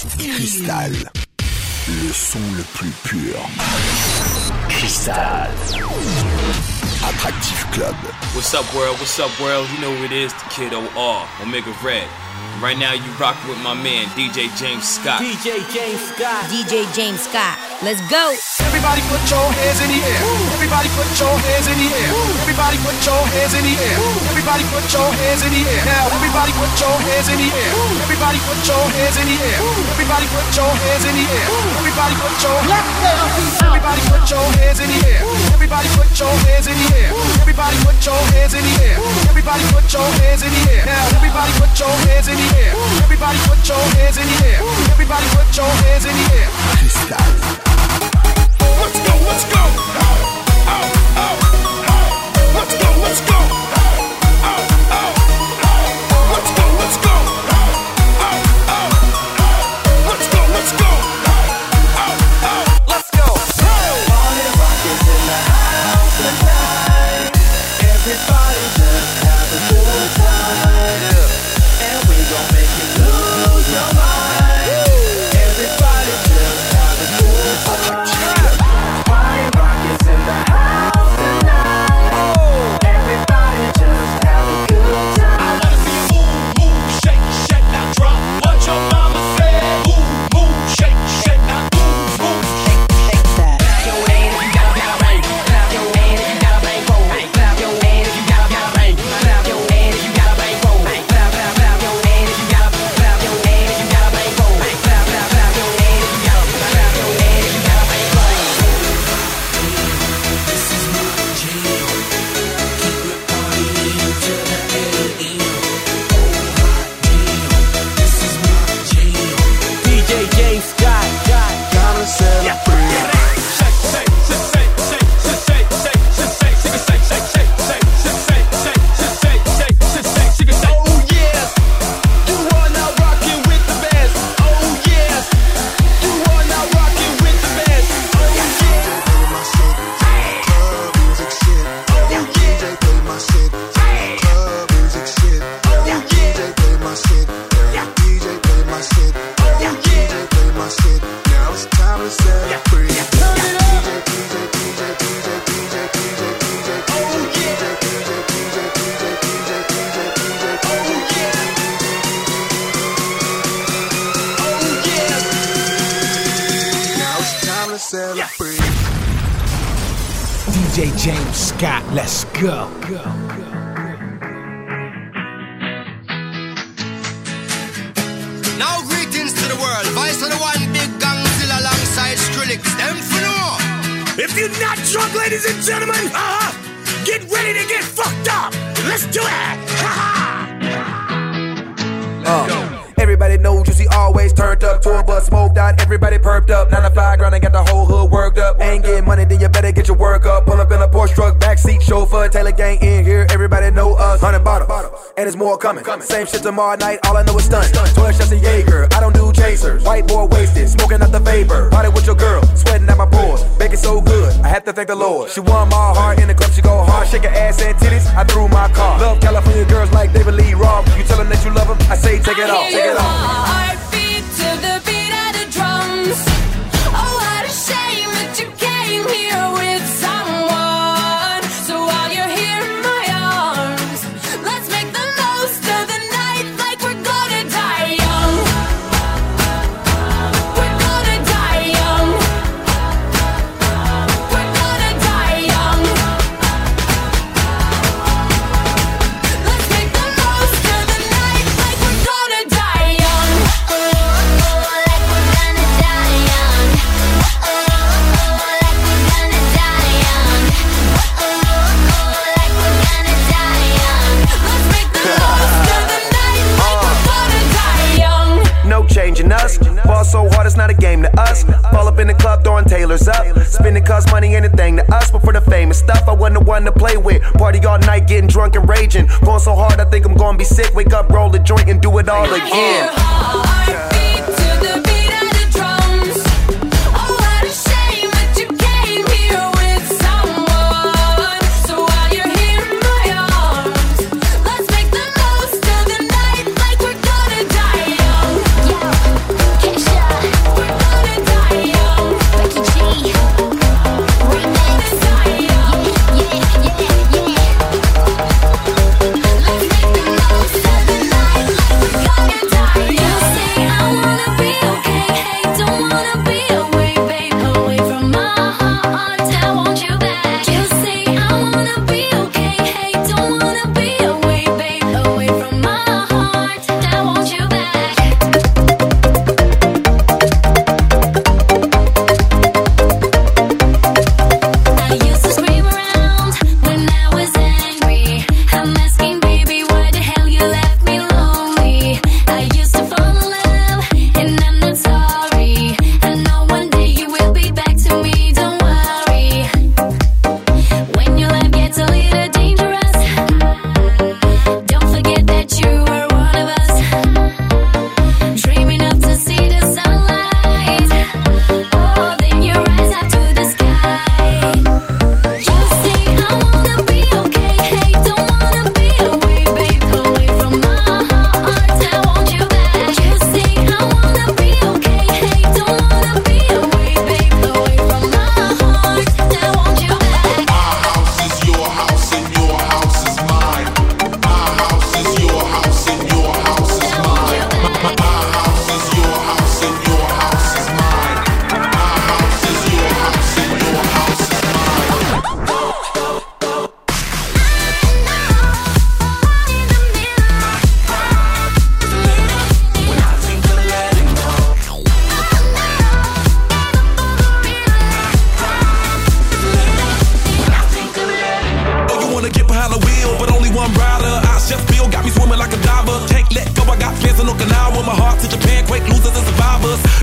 Cristal, le son le plus pur. Cristal. Attractive Club. What's up, world? What's up, world? You know who it is, the Kid OR, Omega Red. Right now, you rockin' with my man, DJ James Scott. DJ James Scott. DJ James Scott. Let's go. Everybody put your hands in the air. Everybody put your hands in the air. Everybody put your hands in the air. Everybody put your hands in the air. Now everybody put your hands in the air. Everybody put your hands in the air. Everybody put your hands in the air. Everybody put your Everybody put your hands in the air. Everybody put your hands in the air. Everybody put your hands in the air. Everybody put your hands in the air. Now everybody put your hands in the air. Everybody put your hands in the air. Everybody put your hands in the air. Cristal. Let's go, let's go. Let's go, let's go. Let's go, let's go. Let's go, let's go. Let's go. Party rock is in the house tonight. Everybody just have a good time. And we gon' make you lose your mind. Everybody just have a good time. DJ James Scott, let's go. Now greetings to the world. Vice of the one big gang still alongside Skrillex. Them for no. If you're not drunk, ladies and gentlemen, get ready to get fucked up. Let's do it. Everybody knows Juicy always turned up. Tour bus smoked out, everybody perked up. 9 to 5 grind and got the whole hood worked up. Ain't getting money, then you better get your work up. Pull up in a Porsche truck, backseat chauffeur. Taylor gang in here, everybody know us. 100 bottles, and there's more coming. Same shit tomorrow night, all I know is stunt. 12 shots of Jaeger, I don't do chasers. White boy wasted, smoking out the vapor. Party with your girl, sweating at my pores. Baking so good, I have to thank the Lord. She won my heart in the club, she go hard. Shake her ass and titties, I threw my car. Love California girls like David Lee Roth. You tell them that you love them, I say take it off, take it off. Heartbeat to the beat of the drums. Oh, what a shame that you came here with someone. So while you're here in my arms, let's make the most of the night like we're gonna die young. We're gonna die young. We're gonna die young. Let's make the most of the night like we're gonna die young. No changing us. Ball so hard it's not a game to us. Fall up in the club throwing Taylors up. Spending cause money anything to us. But for the famous stuff I wasn't the one to play with. Party all night getting drunk and raging. Going so hard I think I'm gonna be sick. Wake up, roll a joint and do it all again. Heartbeat to the beat of the drums. Oh, what a shame that you came here with someone. So while you're here in my arms, let's make the most of the night like we're gonna die young. Yeah, cash out.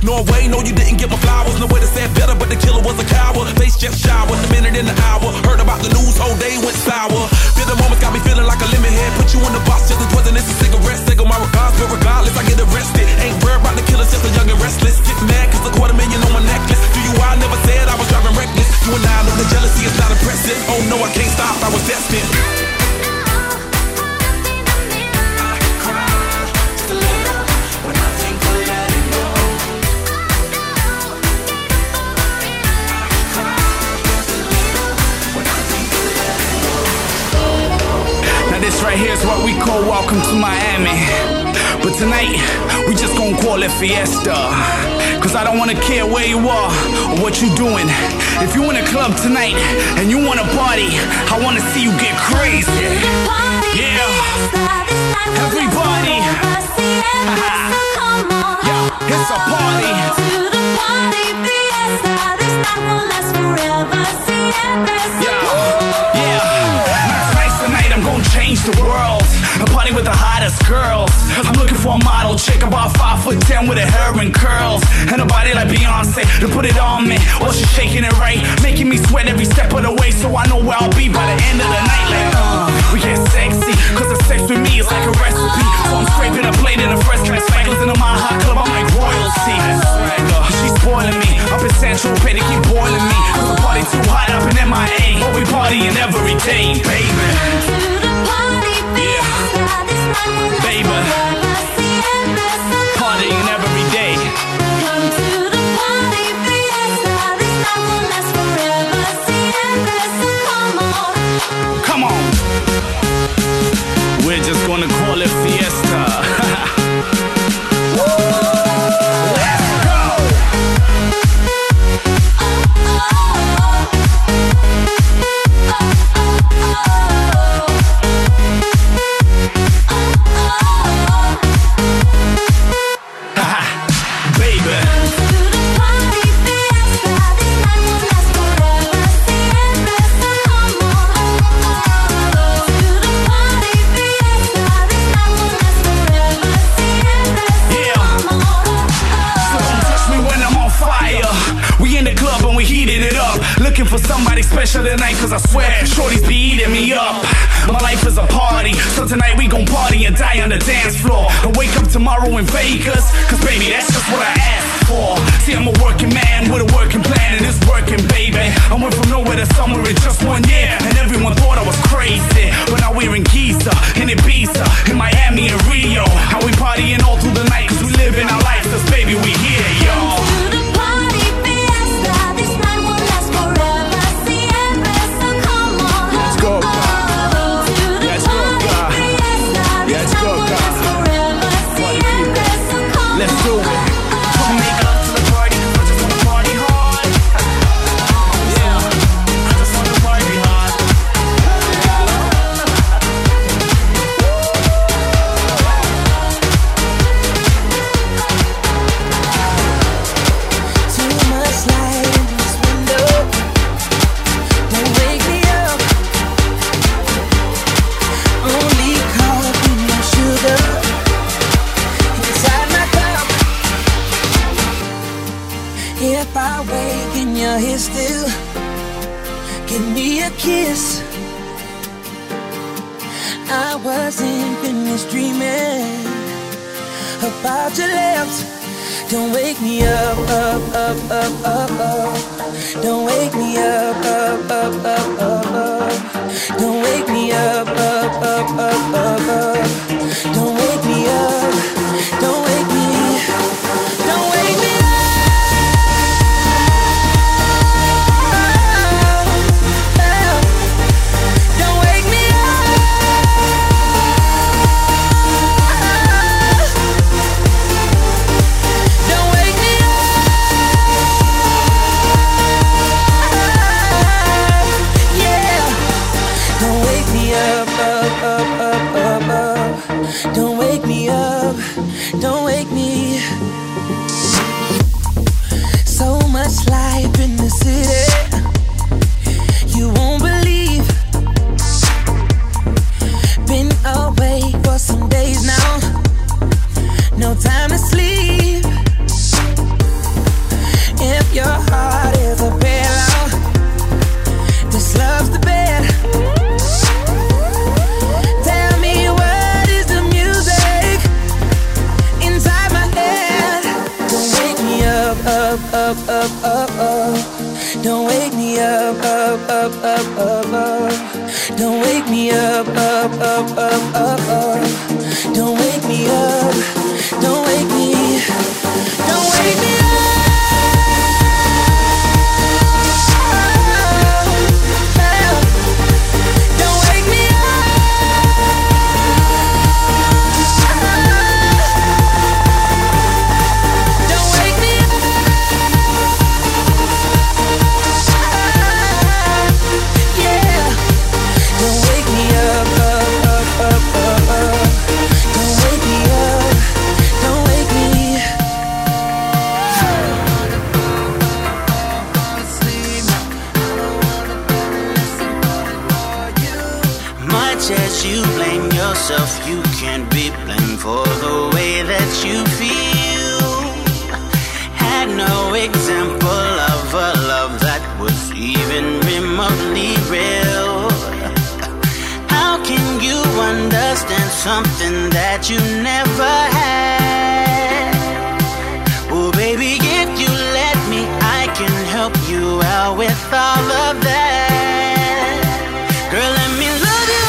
Norway, no, you didn't get my flowers. No way to say it better, but the killer was a coward. Face just showered, a minute in the hour. Heard about the news, whole day went sour. Feel the moments got me feeling like a lemon head. Put you in the box, just as wasn't this a cigarette. Single my regards, but regardless, I get arrested. Ain't worried about the killers, just a young and restless. Get mad, cause $250,000 on my necklace. Do you, I never said I was driving reckless. You and I know the jealousy is not impressive. Oh no, I can't stop, I was destined. This right here is what we call Welcome to Miami. But tonight, we just gonna call it Fiesta. Cause I don't wanna care where you are or what you doing. If you in a club tonight and you wanna party, I wanna see you get crazy. Yeah, everybody. Yeah, it's a party. Change the world, a party with the hottest girls. I'm looking for a model chick about 5'10" with her hair and curls and a body like Beyonce to put it on me. While she's shaking it right, making me sweat every step of the way. So I know where I'll be by the end of the night. Like, we get sexy, cause the sex with me is like a recipe. So I'm scraping a plate in a first class spangles into my hot club. I'm like royalty. She's spoiling me up in Central Pay, they keep boiling me. Cause the party too hot up in MIA, but we partying every day, baby. Baby, partying every day. Come to the party, Fiesta. This night will last forever. Fiesta, come on. Come on. We're just gonna call it Fiesta. For somebody special tonight, cause I swear shorties be eating me up. My life is a party, so tonight we gon' party and die on the dance floor. And wake up tomorrow in Vegas, cause baby, that's just what I asked for. See, I'm a working man with a working plan, and it's working, baby. I went from nowhere to somewhere in just 1 year, and everyone thought I was crazy. But now we're in Giza, in Ibiza, in Miami and Rio. How we partying all through the night, cause we living our life, cause baby, we here, y'all. Let's do it. Come make love to the party, I just wanna party hard. Yeah, I just wanna party hard. Too much light in this window. Don't wake me up. Only coffee, no sugar. If I wake and you're here still, give me a kiss. I wasn't finished dreaming about your lips. Don't wake me up, up, up, up, up, up. Don't wake me up, up, up, up, up, up. Don't wake me up, up, up, up, up, up. Don't wake me up, don't wake me, don't wake me up. Up, up, up, up, up. up, up, up, up, up, up. Don't wake me up, up, up, up, up, up. Don't wake me up, up, up, up, up, up. Don't wake me up, don't wake me, don't wake me up. You can't be blamed for the way that you feel. Had no example of a love that was even remotely real. How can you understand something that you never had? Oh baby, if you let me, I can help you out with all of that. Girl, let me love you.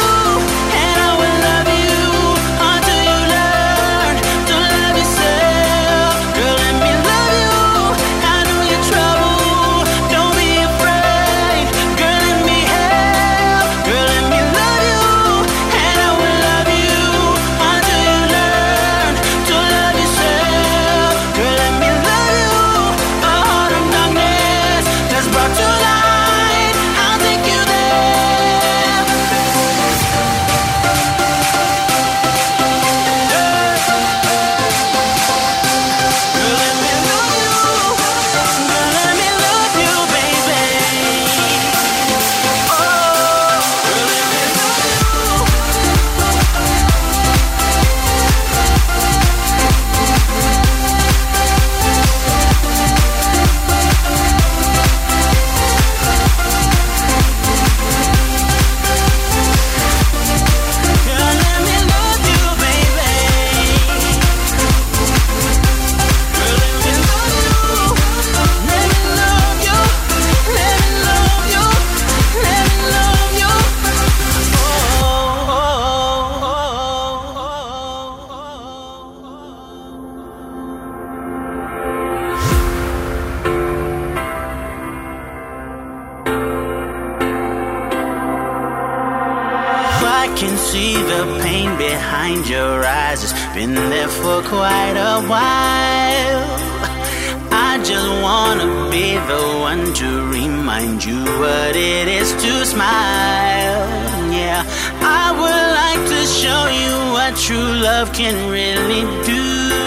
Been there for quite a while. I just wanna be the one to remind you what it is to smile. Yeah, I would like to show you what true love can really do.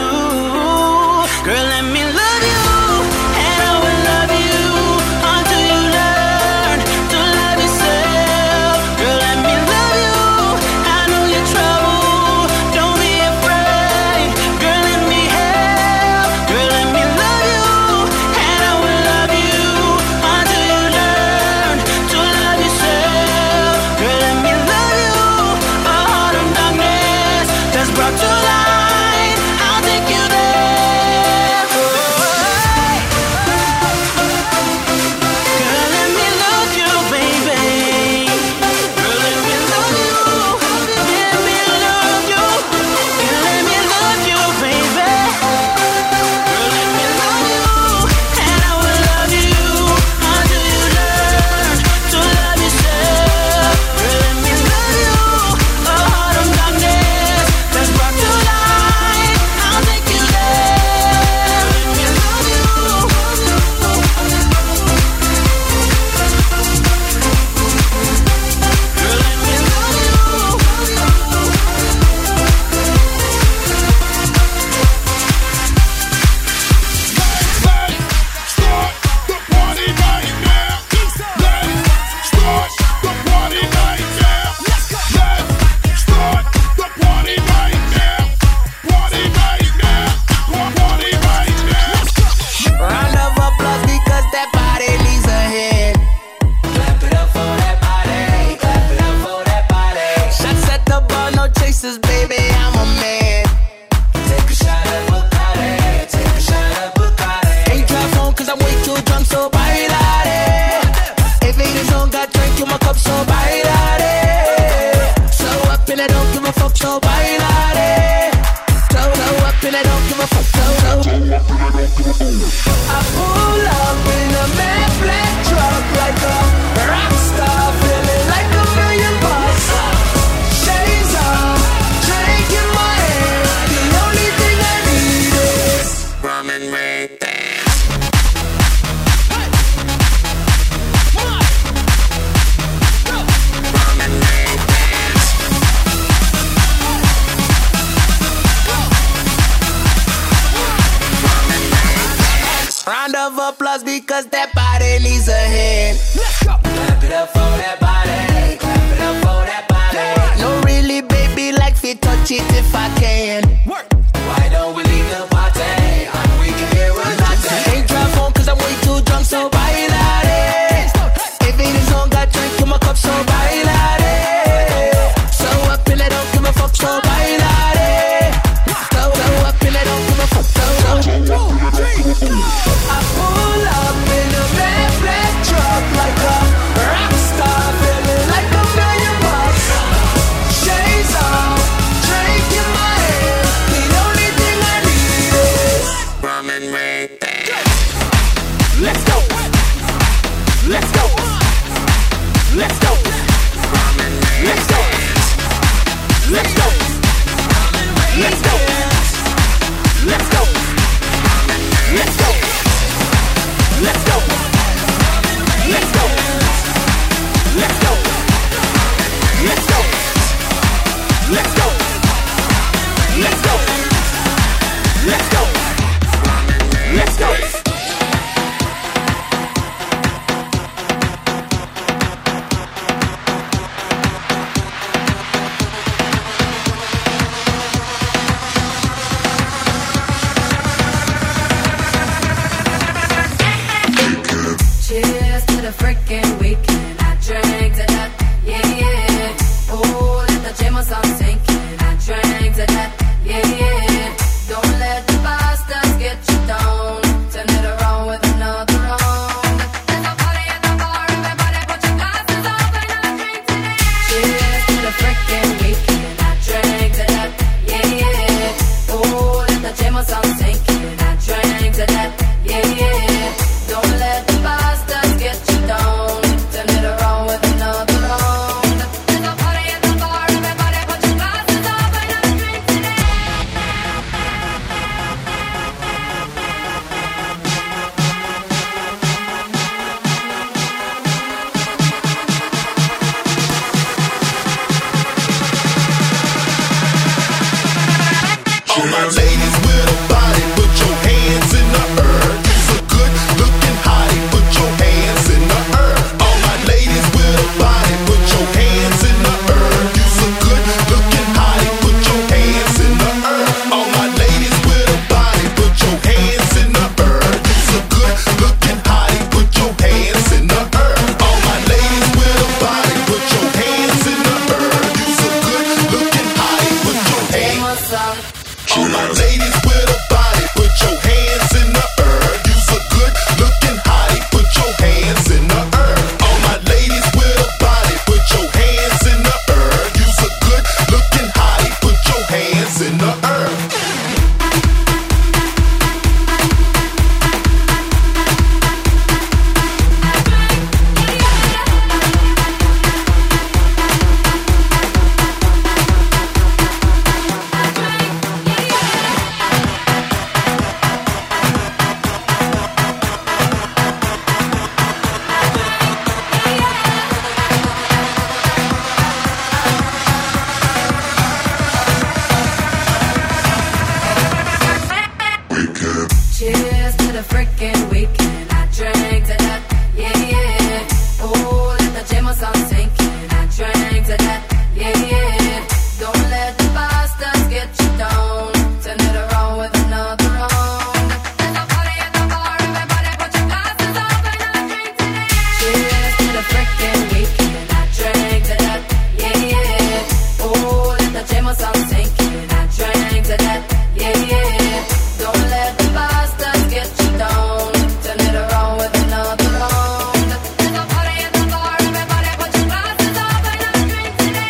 Girl, let me love you, and I will love you until you learn to love yourself. Girl, let me love you. I know you're trouble. Brought to light, I'll make dance. Round of applause because that body needs a hand. Let's go. Clap it up for that body. Clap it up for that body. No, really, baby, like fit touch it if I can. Work. Why don't we leave the party? And we can hear what I say. Ain't try phone cause I'm way too drunk, so bailare. If it is on, got drink in my cup, so bailare. So up in it, don't give a fuck, so bailare. So up in it, don't give a fuck, so. I pull up in a red black truck like a rock star, feeling like $1 million. Shades off, drink in my hand. The only thing I need is rum and make dance. Let's go. Let's go. Let's go. Rum and make Let's go. Let's go. Let's go. Let's go. Let's go. Let's go. Let's go. Let's go. Let's go. Let's go. Let's go. Let's go. Let's go. Cheers to the freaking weekend. I drank to that, yeah, yeah. Oh, let the jam song sinking. I drank to that, yeah, yeah. Don't let the bastards get you down. Turn it around with another round. There's a party at the bar, everybody put your glasses up and I drink to that. Cheers to the freaking weekend. I drank to that, yeah, yeah. Oh, let the jam song sinking. I drank to that, yeah, yeah. Don't let the bastards get you down. Turn it around with another round. There's a party at the bar, everybody put your glasses up and I drink to that. All my ladies with a body, put your hands in the air. You's a good looking hottie, put your hands in the air. All my ladies with a body, put your hands in the air. You's a good looking hottie, put your hands in the air. All my ladies with a body, put your hands in the air. You's a good looking hottie, put your hands in the air. All my ladies with a body, put your hands in the air. You's a good looking hottie, put your hands. All my ladies with a body, put your hands in the air. You's a good looking hottie, put your hands in the air. All my ladies with a body, put your hands in the air. You's a good looking hottie, put your hands in the air. Cheers to the freaking weekend. I drank to that, yeah, yeah. Oh, let the jam song sinking. I drank to that, yeah, yeah. Don't let the bastards get you down. Turn it around with another round. There's a party at the bar, everybody put your glasses up and I drink to that. Cheers to the freaking weekend. I drank to that, yeah, yeah. Oh, let the jam song sinking. I drank to that, yeah, yeah. Don't let the bastards get you down. Turn it around with another round. There's a party at the bar, everybody put your glasses up and I drink to that.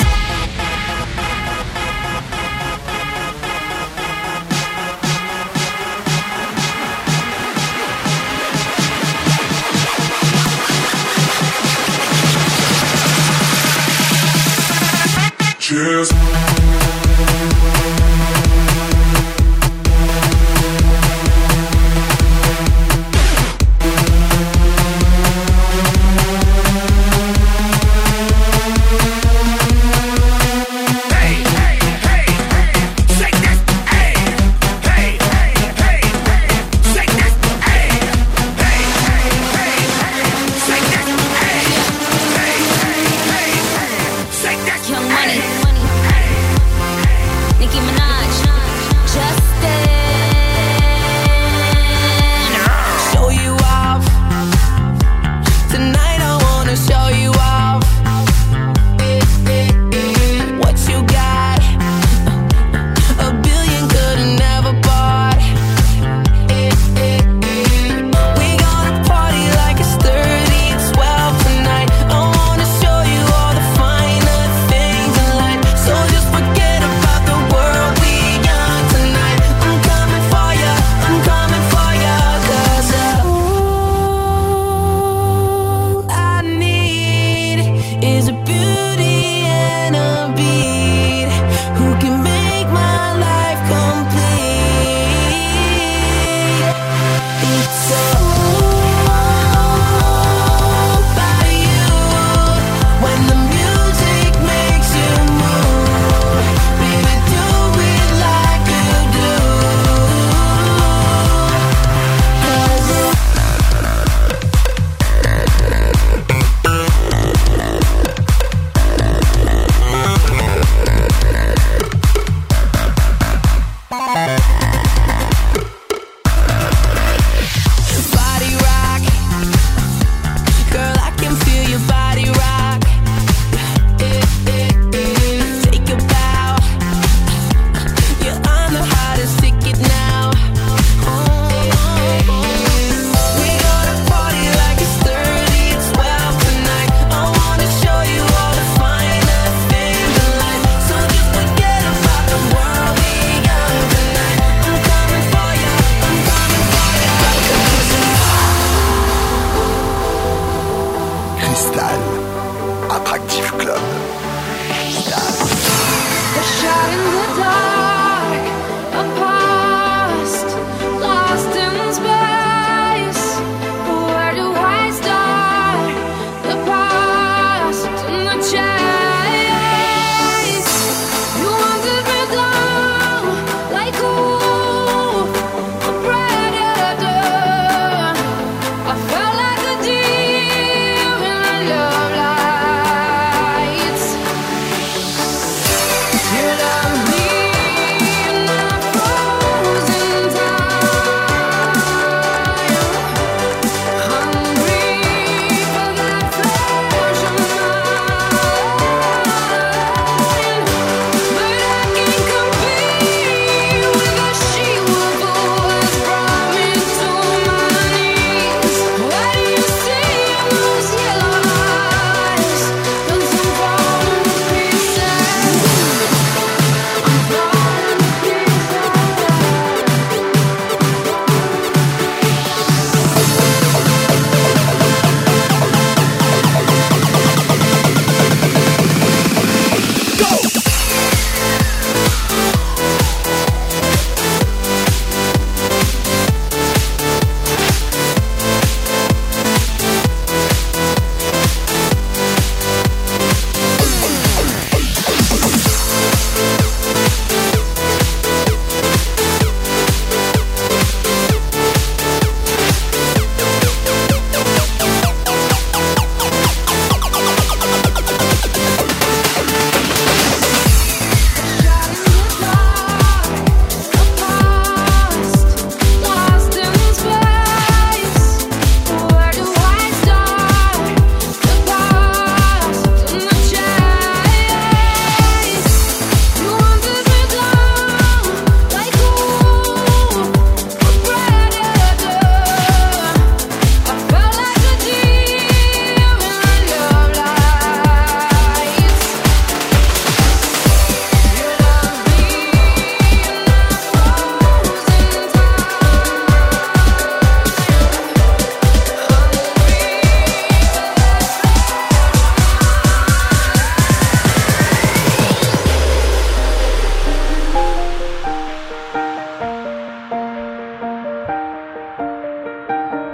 Cheers.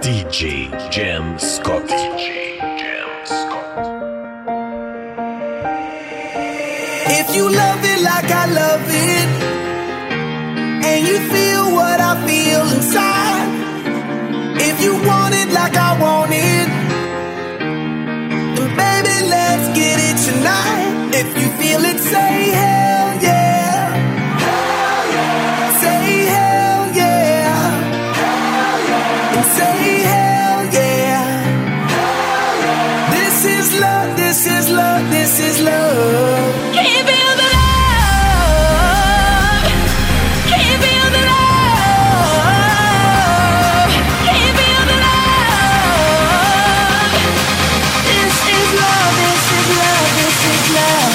DJ Jam Scott. If you love it like I love it, and you feel what I feel inside, if you want it like I want it, then baby, let's get it tonight. If you feel it, say hell yeah. Hell yeah. Say hell yeah. Hell yeah. And say hell yeah. Hell yeah. This is love, this is love, this is love. Can you feel the love? Can you feel the love? Can you feel the love? This is love, this is love, this is love.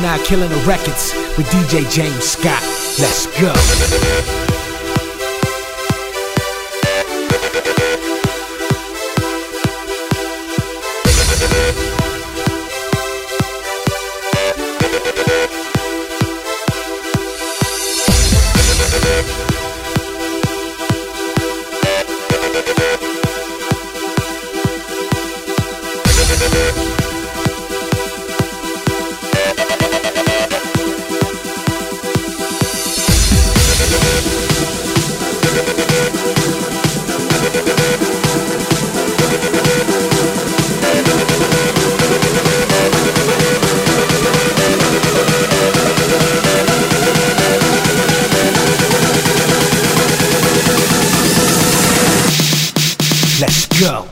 now killing the records with DJ James Scott. Let's go. Let's go.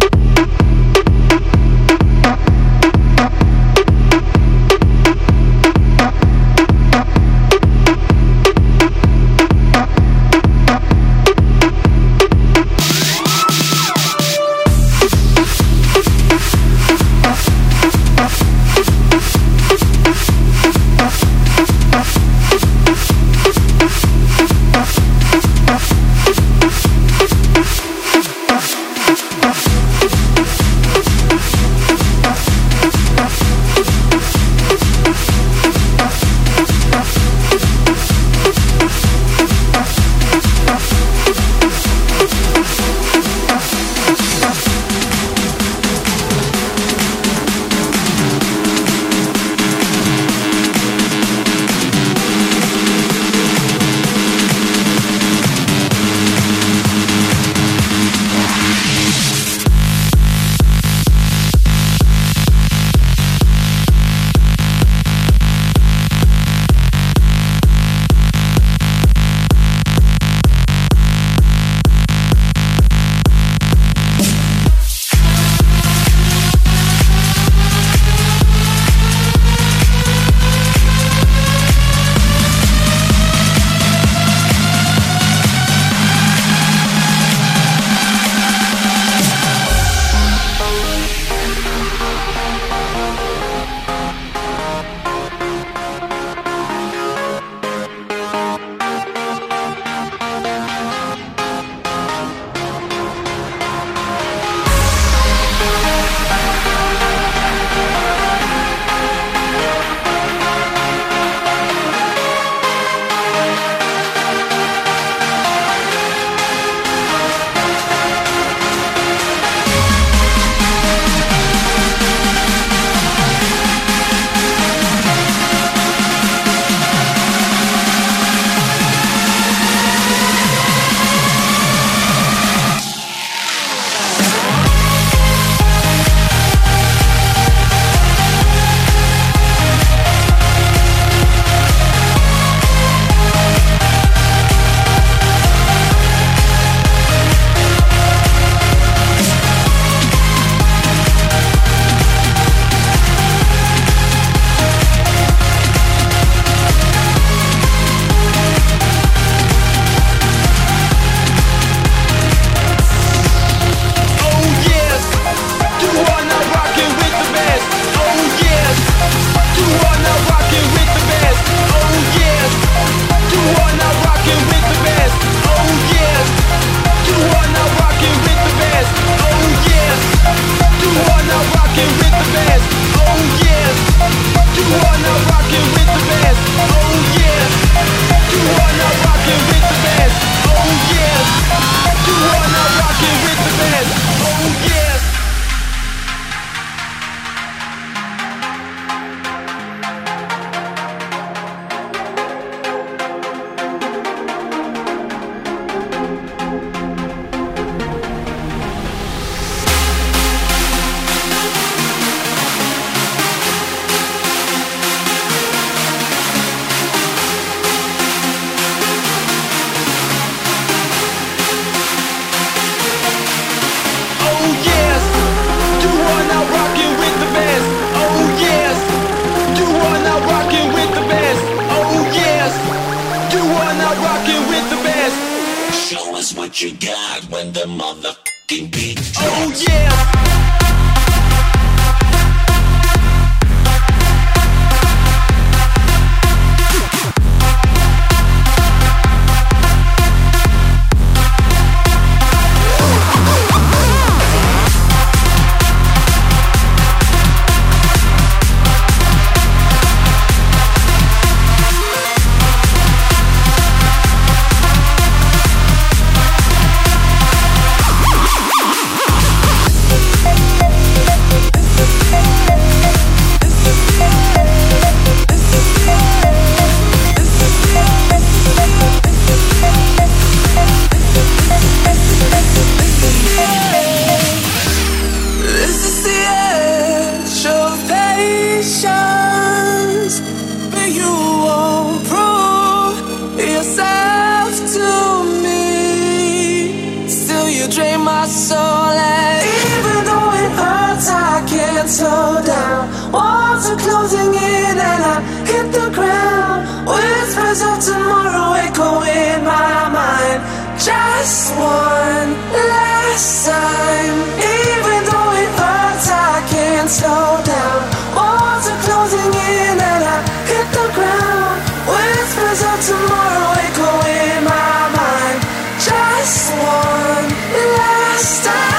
what you got when the motherfucking beat drops. Oh yeah. Just one last time. Even though it hurts, I can't slow down. Walls are closing in and I hit the ground. Whispers of tomorrow echo in my mind. Just one last time.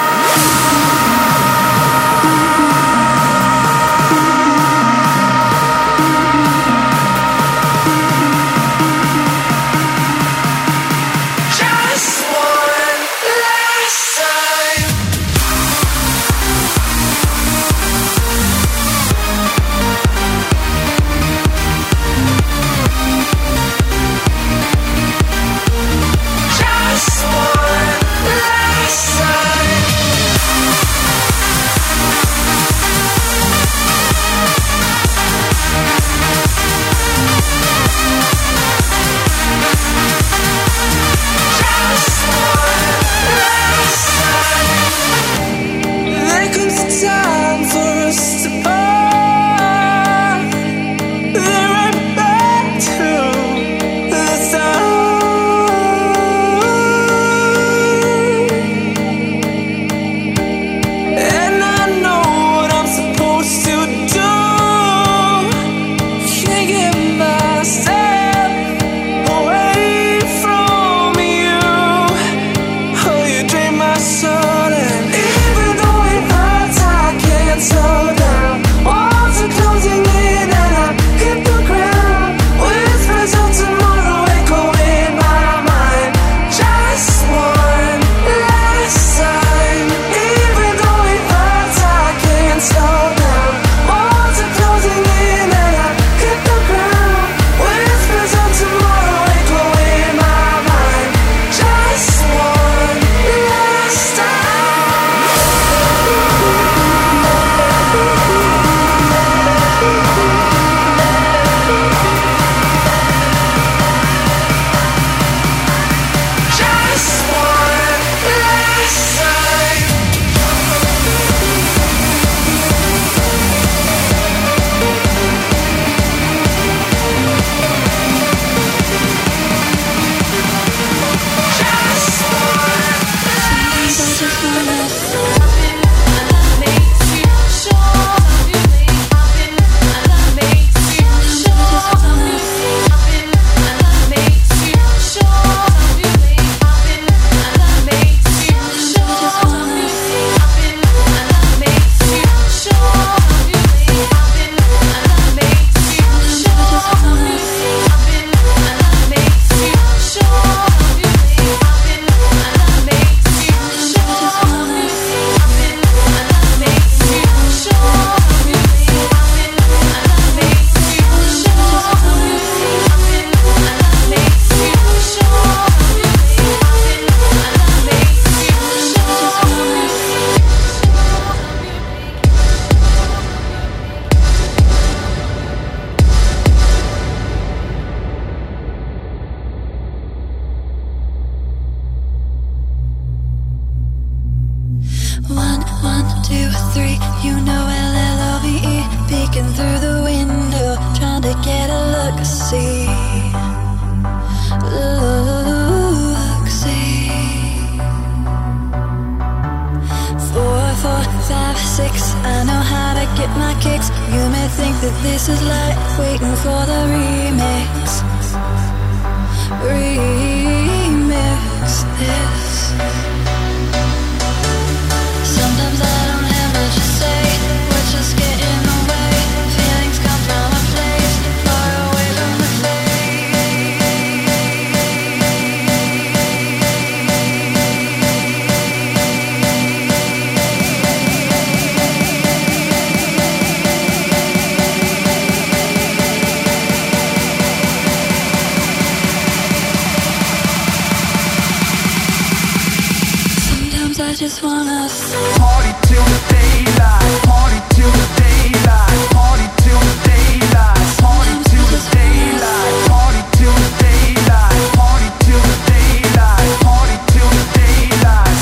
Just wanna party till the daylight, party till the daylight, party till the daylight, party till the daylight, party till the daylight, party till the daylight, party till the daylight,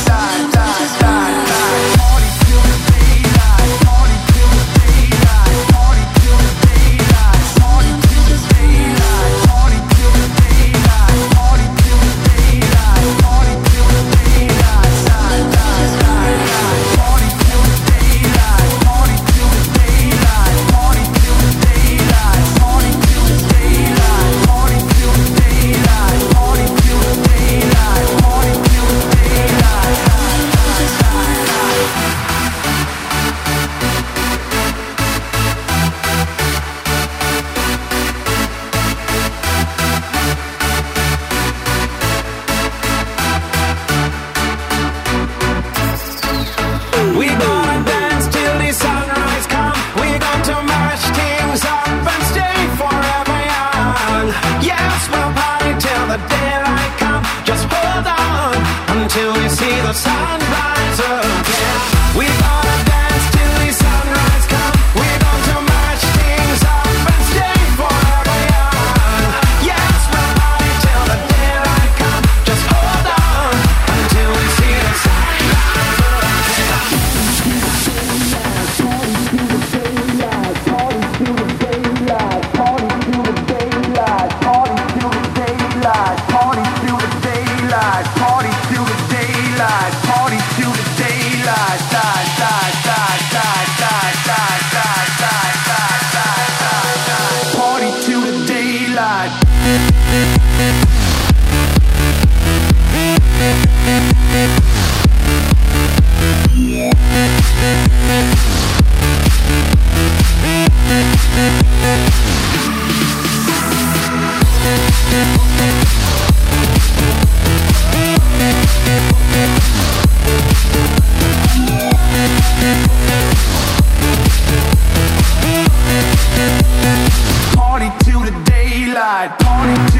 party till the daylight, party till the daylight, party till the daylight, party till the daylight, party till the daylight, party till the daylight, party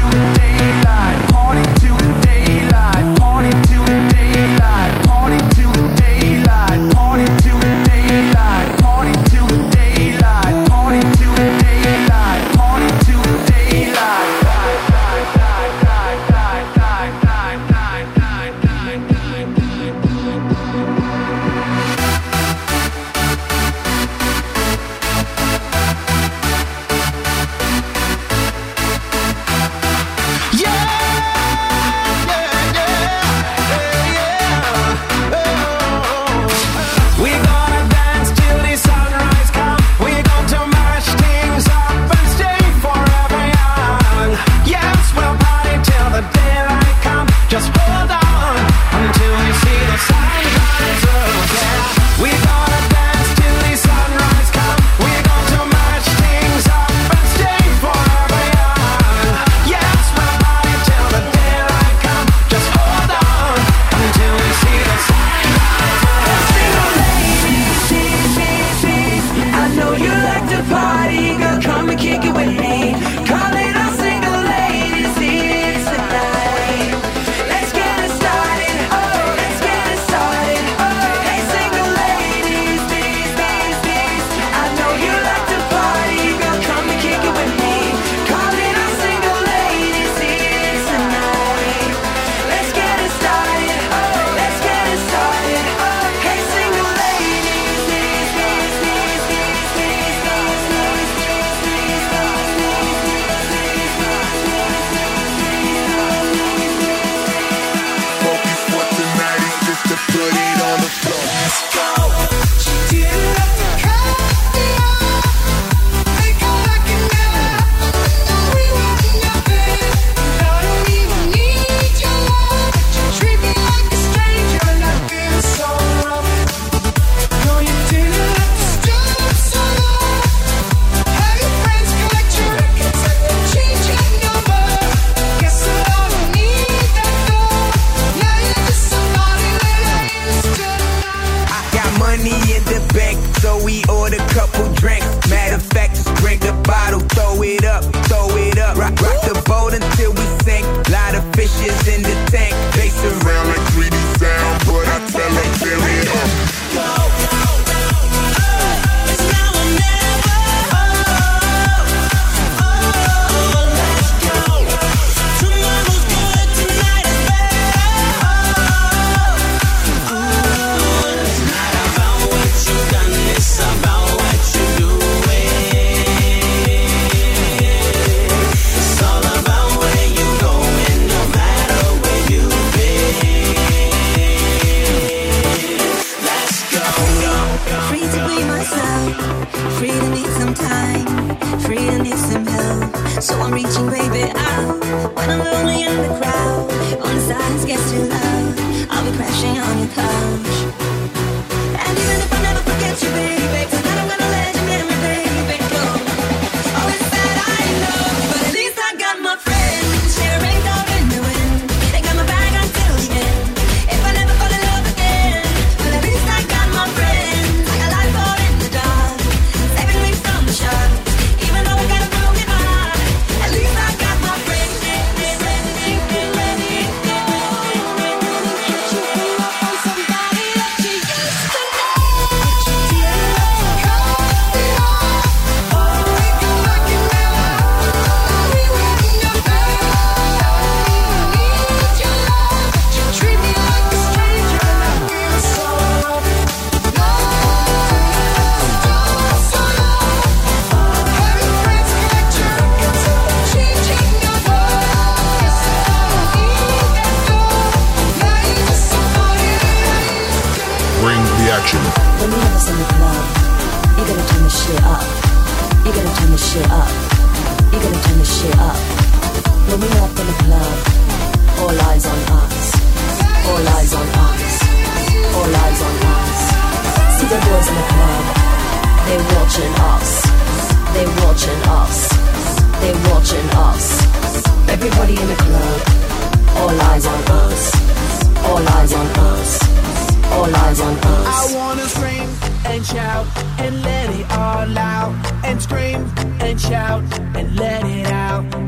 And scream and shout and let it out. We say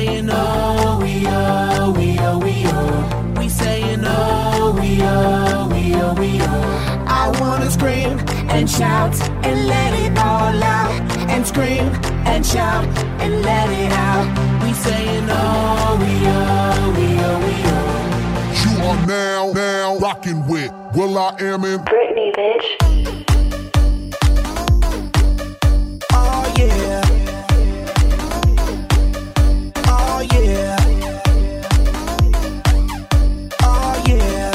saying oh, we oh, we oh, we oh. We saying oh, we oh, we oh, we oh. I wanna scream and shout and let it all out. And scream and shout and let it out. We saying oh, we oh, we oh, we oh. You are now rocking with will.i.am in Britney, bitch. Oh yeah. Oh yeah. Oh yeah.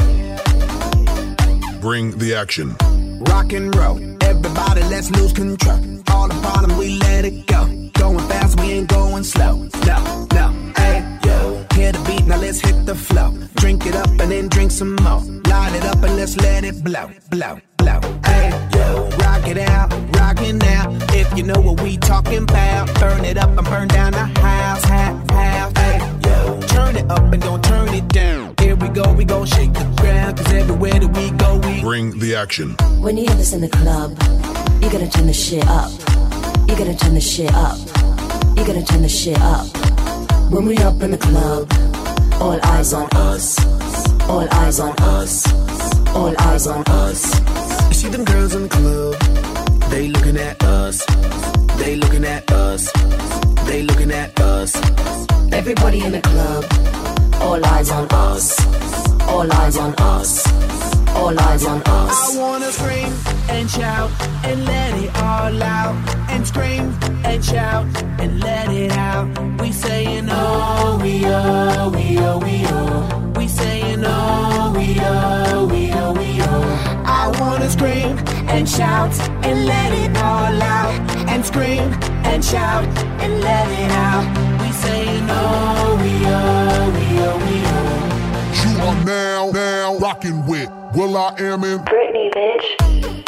Bring the action. Rock and roll, everybody let's lose control. All the bottom we let it go. Going fast, we ain't going slow. No, hey, yo. Hear the beat, now let's hit the flow. Drink it up and then drink some more. Light it up and let's let it blow, blow, blow. Hey, yo. Rock it out, rockin' now. If you know what we talking about. Burn it up and burn down the house, house. Hey, yo. Turn it up and don't turn it down. Here we go shake the ground. Cause everywhere that we go, we bring the action. When you hear this in the club, you gotta turn the shit up. You gotta turn the shit up. You gotta turn the shit up. When we up in the club, all eyes on us. All eyes on us. All eyes on us. You see them girls in the club, they looking at us. They looking at us. They looking at us. Everybody in the club, all eyes on us. All eyes on us. All eyes on us. I wanna scream and shout and let it all out. And scream and shout and let it out. We saying oh, we oh, we oh, we oh. We saying oh, we oh, we oh, we oh. I wanna scream and shout and let it all out. And scream and shout and let it out. We saying oh, we oh, we oh, we oh. You are now rocking with will.i.am in Britney, bitch.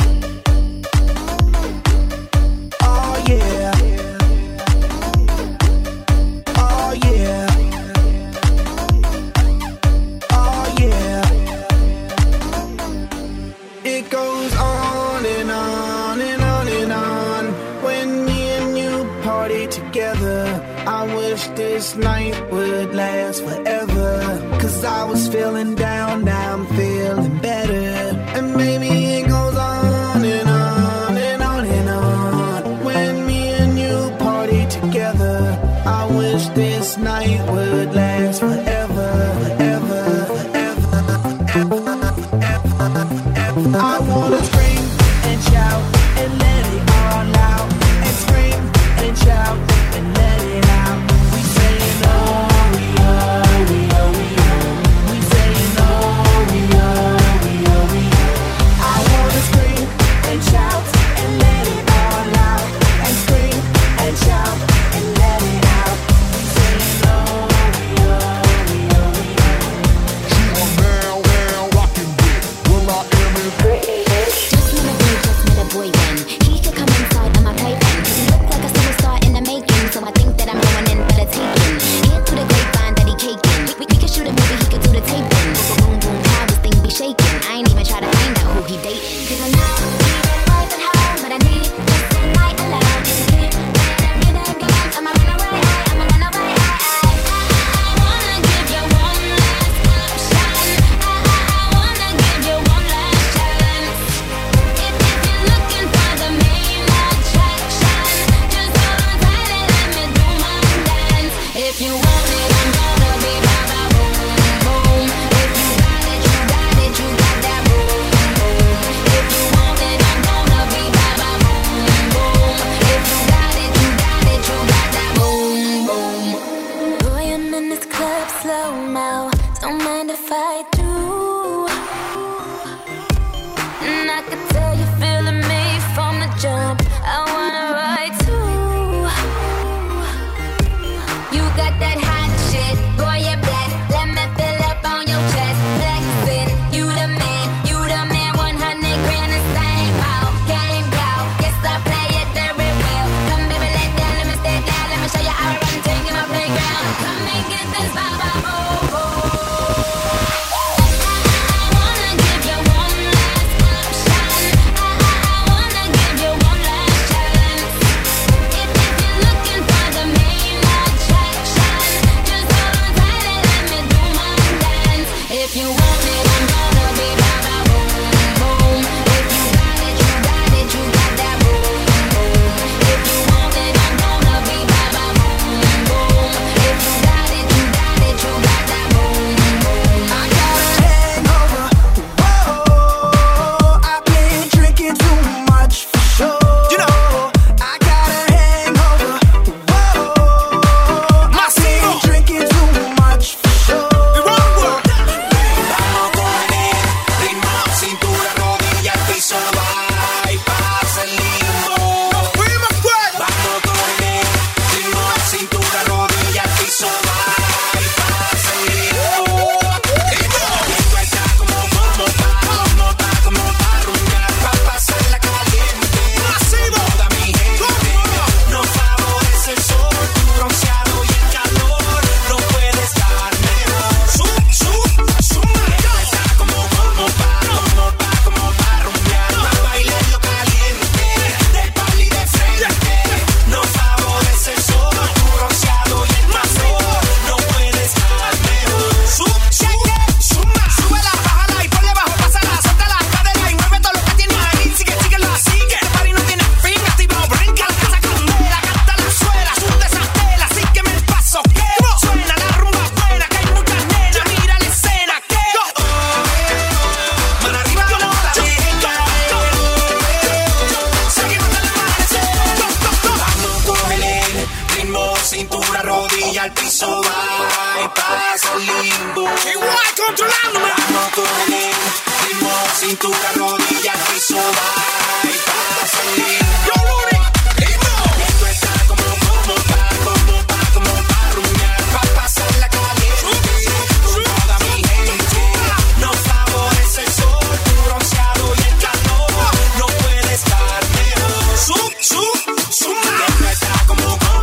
Oh yeah. Oh yeah. Oh yeah. It goes on and on and on and on. When me and you party together, I wish this night would last forever. Cause I was feeling down, now I'm feeling better. And maybe it goes on and on and on and on. When me and you party together, I wish this night would last forever, forever, forever, forever. I wanna scream and shout and let it all out. And scream and shout and let it out. We saying oh, we oh, we oh, we oh. We saying oh, we oh, we oh, we oh. I wanna scream and shout and let it all out. And scream and shout and let it out. We saying oh, we oh. controlándome. Vamos con el ritmo, sin tu rodilla al piso baja y pasa el lío. Yo, Rudy, ritmo. Esto está como pa' rumiar, pa' pasarla caliente. Con toda mi gente, nos favorece el sol, tu bronceado y el calor. No puede estar mejor. Esto está como pa'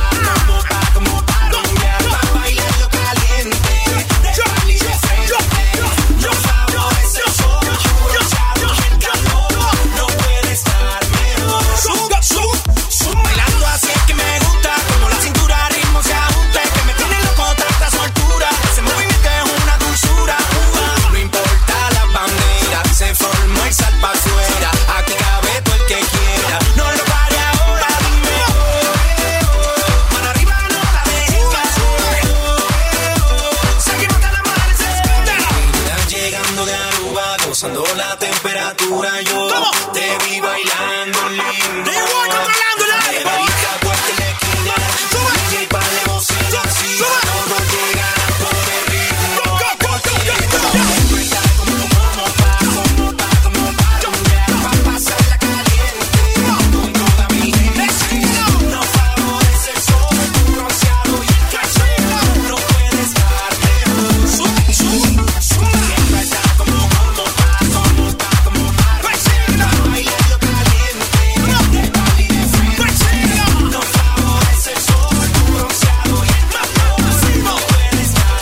rumiar, pa' bailarlo caliente. De pali de frente, nos favorece el sol, tu bronceado y el calor. No puede estar mejor. Bailando así es que me gusta, como la cintura ritmo se ajusta, es que me tiene loco tanta soltura. Ese movimiento es una dulzura. No importa la bandera, se formó el sal pa' afuera. Aquí cabe todo el que quiera. No lo pare ahora, dime mano arriba, no la dejes caer. Seguimos hasta el amanecer. Llegando de Aruba, gozando la temperatura. Yo te vi bailando lindo. Margarita, puerta en la esquina. DJ pa' de bocina, así todos llegan por el ritmo. Esto está como pa' rumiar, pa' pasarla caliente. Con toda mi gente, nos favorece el sol, tu bronceado y el calor. No puede estar mejor. Esto está como pa' bailarlo caliente. De pali de frente, nos favorece el sol, tu bronceado y el calor. No puede estar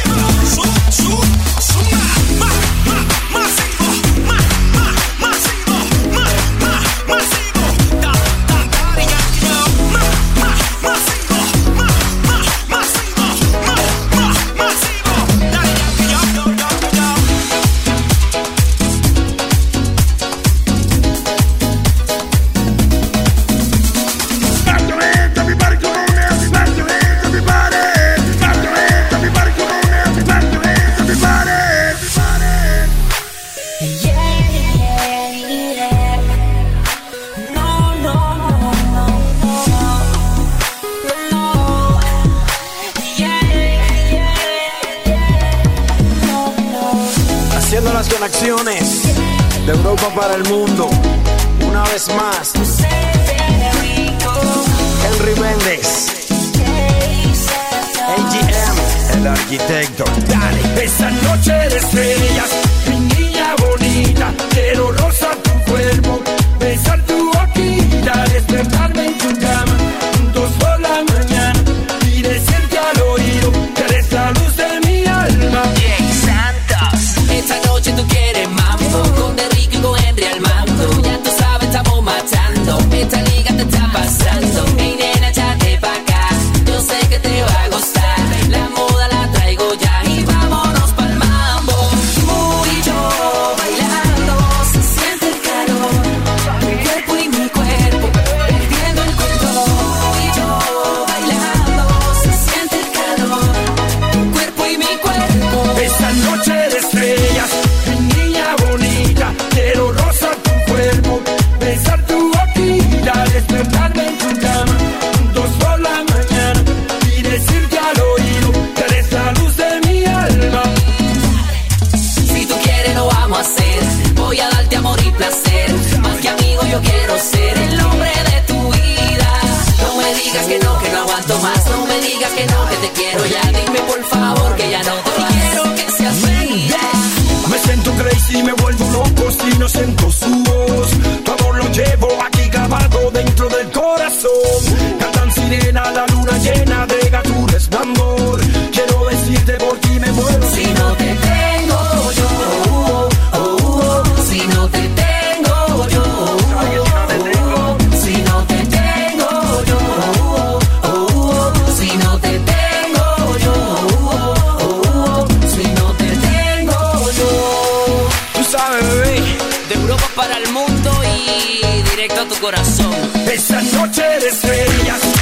Haciendo las conexiones de Europa para el mundo. Una vez más, Henry Méndez, AGM, el arquitecto. Dale. Esa noche de estrellas, mi niña bonita, quiero rozar tu cuerpo, besar tu boquita, despertarme en tu cama, juntos por la mañana y decirte al oído que eres la luz de mi alma. Esta noche tú quieres mambo, con Enrique y con Henry al mando. Ya tú sabes, estamos matando, esta liga te está pasando. Ey nena, échate pa' acá, yo sé que te va a gustar. La moda la traigo ya y vámonos pa'l mambo. Tú y yo bailando, se siente el calor. Mi cuerpo y mi cuerpo, perdiendo el control. Tú y yo bailando, se siente el calor. Mi cuerpo y mi cuerpo. Esta noche de estrellas, mi niña bonita, quiero rozar tu cuerpo, besar tu boquita, despertarme en tu cama, juntos por la mañana y decirte al oído que eres la luz de mi alma. Si tú quieres lo vamos a hacer, voy a darte amor y placer. Más que amigo yo quiero ser el hombre de tu vida. No me digas que no aguanto más. No me digas que no, que te quiero ya. Dime por favor que ya no te quiero que seas feliz. Me siento crazy, me vuelvo loco si no siento su voz. Tu amor lo llevo aquí grabado dentro del corazón. Cantan sirena, la luna llena de tu resplandor. Quiero decirte por ti me muero. Si no te tengo yo, si no te tengo yo, si no te tengo yo, si no te tengo yo, si no te tengo yo. Tú sabes, bebé. De Europa para el mundo y directo a tu corazón. Esa noche de estrellas,